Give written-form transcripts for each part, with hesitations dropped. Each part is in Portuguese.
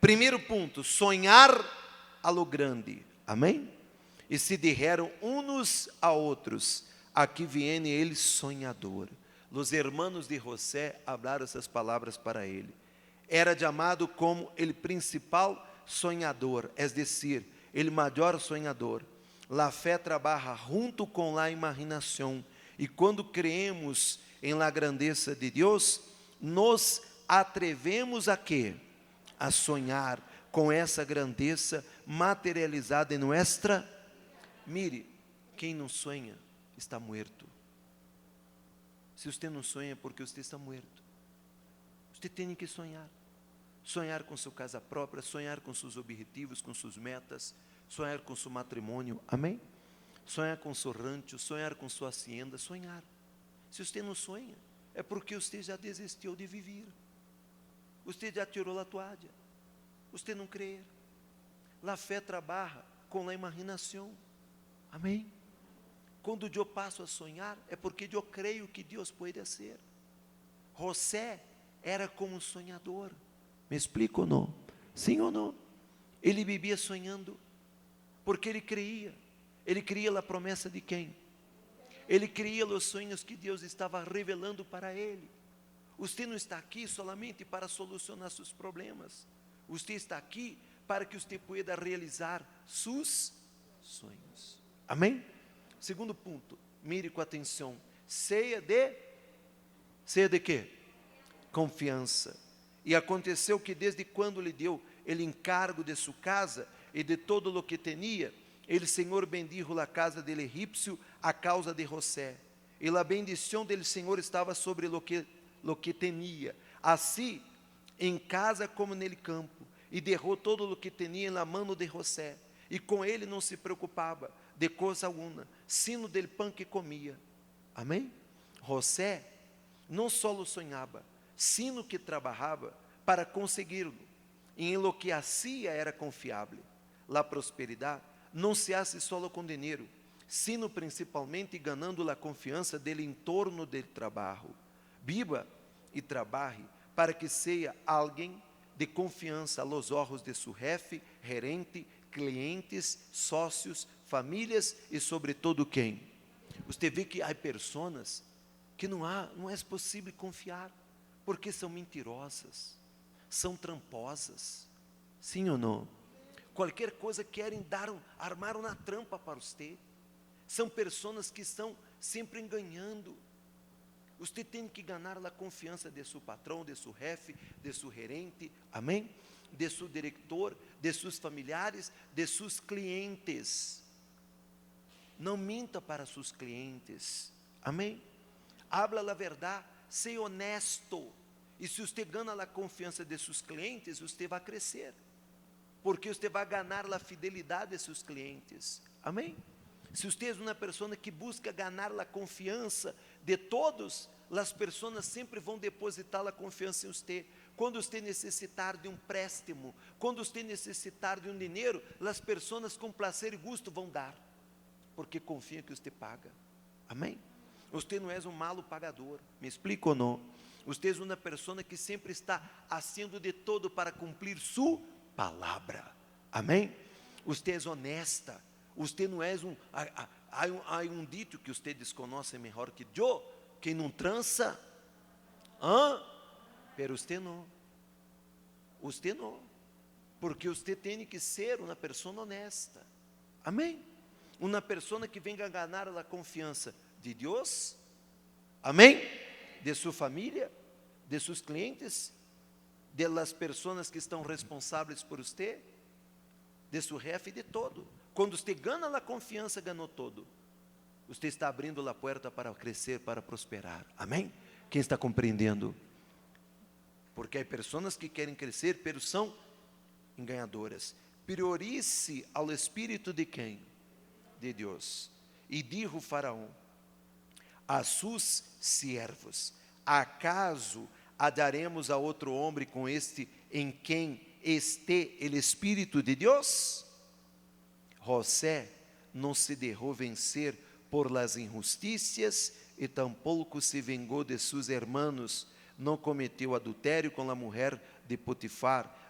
Primeiro ponto, sonhar a lo grande, amém? E se disseram uns a outros, aqui viene ele sonhador. Os hermanos de José falaram essas palavras para ele. Era chamado como ele principal sonhador, é decir, ele maior sonhador. La fé trabalha junto com la imaginação, e quando creemos em la grandeza de Deus, nos atrevemos a quê? A sonhar com essa grandeza materializada em nossa. Mire, quem não sonha está morto. Se você não sonha é porque você está morto. Você tem que sonhar. Sonhar com sua casa própria, sonhar com seus objetivos, com suas metas, sonhar com seu matrimônio, amém? Sonhar com seu rancho, sonhar com sua hacienda, sonhar. Se você não sonha, é porque você já desistiu de viver. Você já tirou a toalha. Você não crê. A fé trabalha com a imaginação, amém? Quando eu passo a sonhar, é porque eu creio que Deus pode ser. José era como um sonhador. Me explico ou não? Sim ou não? Ele vivia sonhando, porque ele cria a promessa de quem? Ele cria os sonhos que Deus estava revelando para ele. Você não está aqui solamente para solucionar seus problemas. Você está aqui para que você pueda realizar seus sonhos. Amém? Segundo ponto, mire com atenção. Ceia de quê? Confiança. E aconteceu que desde quando lhe deu ele encargo de sua casa e de todo o que tinha, ele Senhor bendijo a casa del egípcio a causa de José. E a bendição dele Senhor estava sobre lo que tinha, assim em casa como nele campo, e derrou todo o que tinha na mão de José, e com ele não se preocupava de coisa alguma, sino del pão que comia. Amém? José não só sonhava, sino que trabalhava para consegui-lo, e em lo que hacía era confiável. La prosperidade não se hace solo com dinheiro, sino principalmente ganando a confiança dele em torno do trabalho. Viva e trabalhe para que seja alguém de confiança aos olhos de seu jefe, gerente, clientes, sócios, famílias e sobretudo quem? Você vê que há pessoas que não é possível confiar, porque são mentirosas, são tramposas, sim ou não? Qualquer coisa querem armar uma trampa para você. São pessoas que estão sempre enganando. Você tem que ganhar a confiança de seu patrão, de seu jefe, de seu gerente, amém? De seu diretor, de seus familiares, de seus clientes. Não minta para seus clientes, amém? Habla a verdade, seja honesto. E se você ganha a confiança de seus clientes, você vai crescer, porque você vai ganhar a fidelidade de seus clientes, amém? Se você é uma pessoa que busca ganhar a confiança de todos, as pessoas sempre vão depositar a confiança em você. Quando você necessitar de um préstimo, quando você necessitar de um dinheiro, as pessoas com prazer e gosto vão dar, porque confiam que você paga, amém? Você não é um malo pagador, me explico ou não? Você é uma pessoa que sempre está fazendo de todo para cumprir sua palavra, amém? Você é honesta, você não é há um dito que você desconhece melhor que eu, quem não trança, pero você não, porque você tem que ser uma pessoa honesta, amém? Uma pessoa que venga ganhar a confiança de Deus, amém? De sua família, de seus clientes, de las pessoas que estão responsáveis por você, de seu jefe, de todo. Quando você ganha a confiança, ganhou todo. Você está abrindo a porta para crescer, para prosperar, amém? Quem está compreendendo? Porque há pessoas que querem crescer, pero são enganadores. Priorize ao Espírito de quem? De Deus. E dijo Faraó a seus siervos: acaso daremos a outro homem com este em quem este o Espírito de Deus? José não se deixou vencer por las injusticias e tampouco se vengou de seus hermanos. Não cometeu adultério com a mulher de Potifar,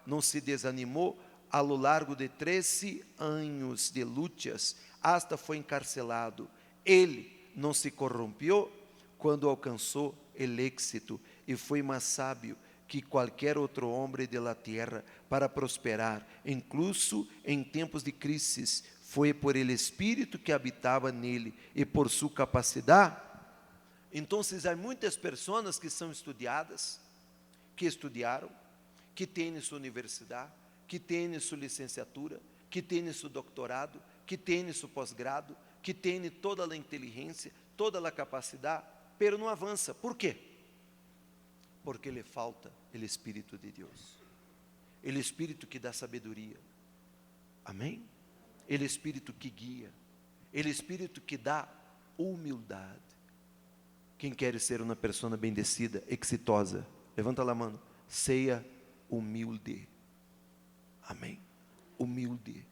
não se desanimou a lo largo de 13 anos de lutas, hasta foi encarcelado. Ele não se corrompeu quando alcançou o êxito e foi mais sábio que qualquer outro homem de la terra para prosperar, incluso em tempos de crises. Foi por el Espírito que habitava nele e por sua capacidade. Então, há muitas pessoas que são estudiadas, que estudaram, que têm sua universidade, que têm sua licenciatura, que têm seu doutorado, que têm seu pós-grado, que têm toda a inteligência, toda a capacidade, pero não avança. Por quê? Porque lhe falta o Espírito de Deus, o Espírito que dá sabedoria, amém? O Espírito que guia, o Espírito que dá humildade. Quem quer ser uma pessoa bendecida, exitosa, levanta a mão, seja humilde, amém? Humilde.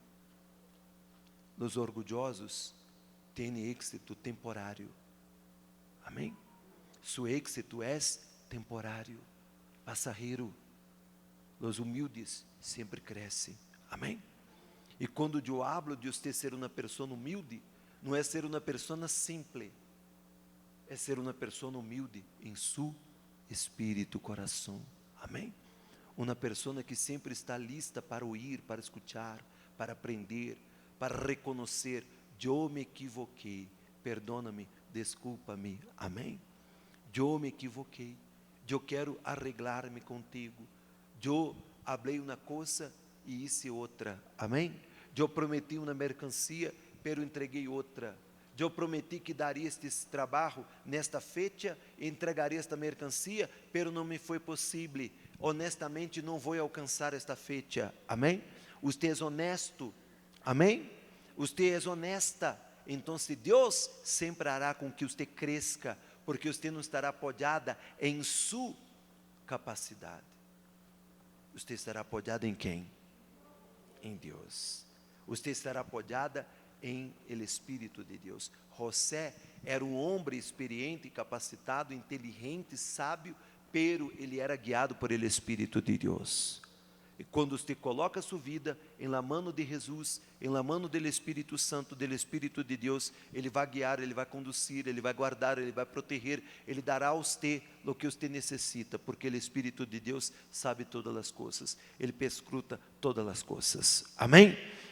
Os orgulhosos têm êxito temporário, amém? Su êxito é temporário, passageiro. Os humildes sempre crescem, amém? E quando eu hablo de você ser uma pessoa humilde, não é ser uma pessoa simples, é ser uma pessoa humilde em seu espírito, coração, amém? Uma pessoa que sempre está lista para ouvir, para escutar, para aprender, para reconhecer: eu me equivoquei, perdona-me, desculpa-me, amém? Eu me equivoquei, eu quero arreglar-me contigo, eu falei uma coisa e hice outra, amém? Eu prometi uma mercancia, pero entreguei outra. Eu prometi que daria este trabalho nesta fecha, entregaria esta mercancia, pero não me foi possível. Honestamente, não vou alcançar esta fecha, amém? Você é honesto, amém? Você é honesta, então Deus sempre hará com que você cresça, porque você não estará apoiada em sua capacidade. Você estará apoiada em quem? Em Deus. Você estará apoiada em el Espírito de Deus. José era um homem experiente, capacitado, inteligente, sábio, pero ele era guiado por el Espírito de Deus. E quando você coloca sua vida em la mano de Jesus, em la mano do Espírito Santo, do Espírito de Deus, Ele vai guiar, Ele vai conduzir, Ele vai guardar, Ele vai proteger, Ele dará a você o que você necessita, porque o Espírito de Deus sabe todas as coisas, Ele perscruta todas as coisas, amém?